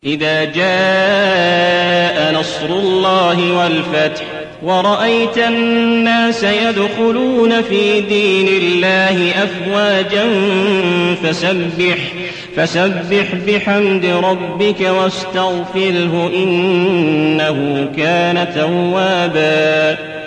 إذا جاء نصر الله والفتح ورأيت الناس يدخلون في دين الله أفواجا فسبح بحمد ربك واستغفره إنه كان توابا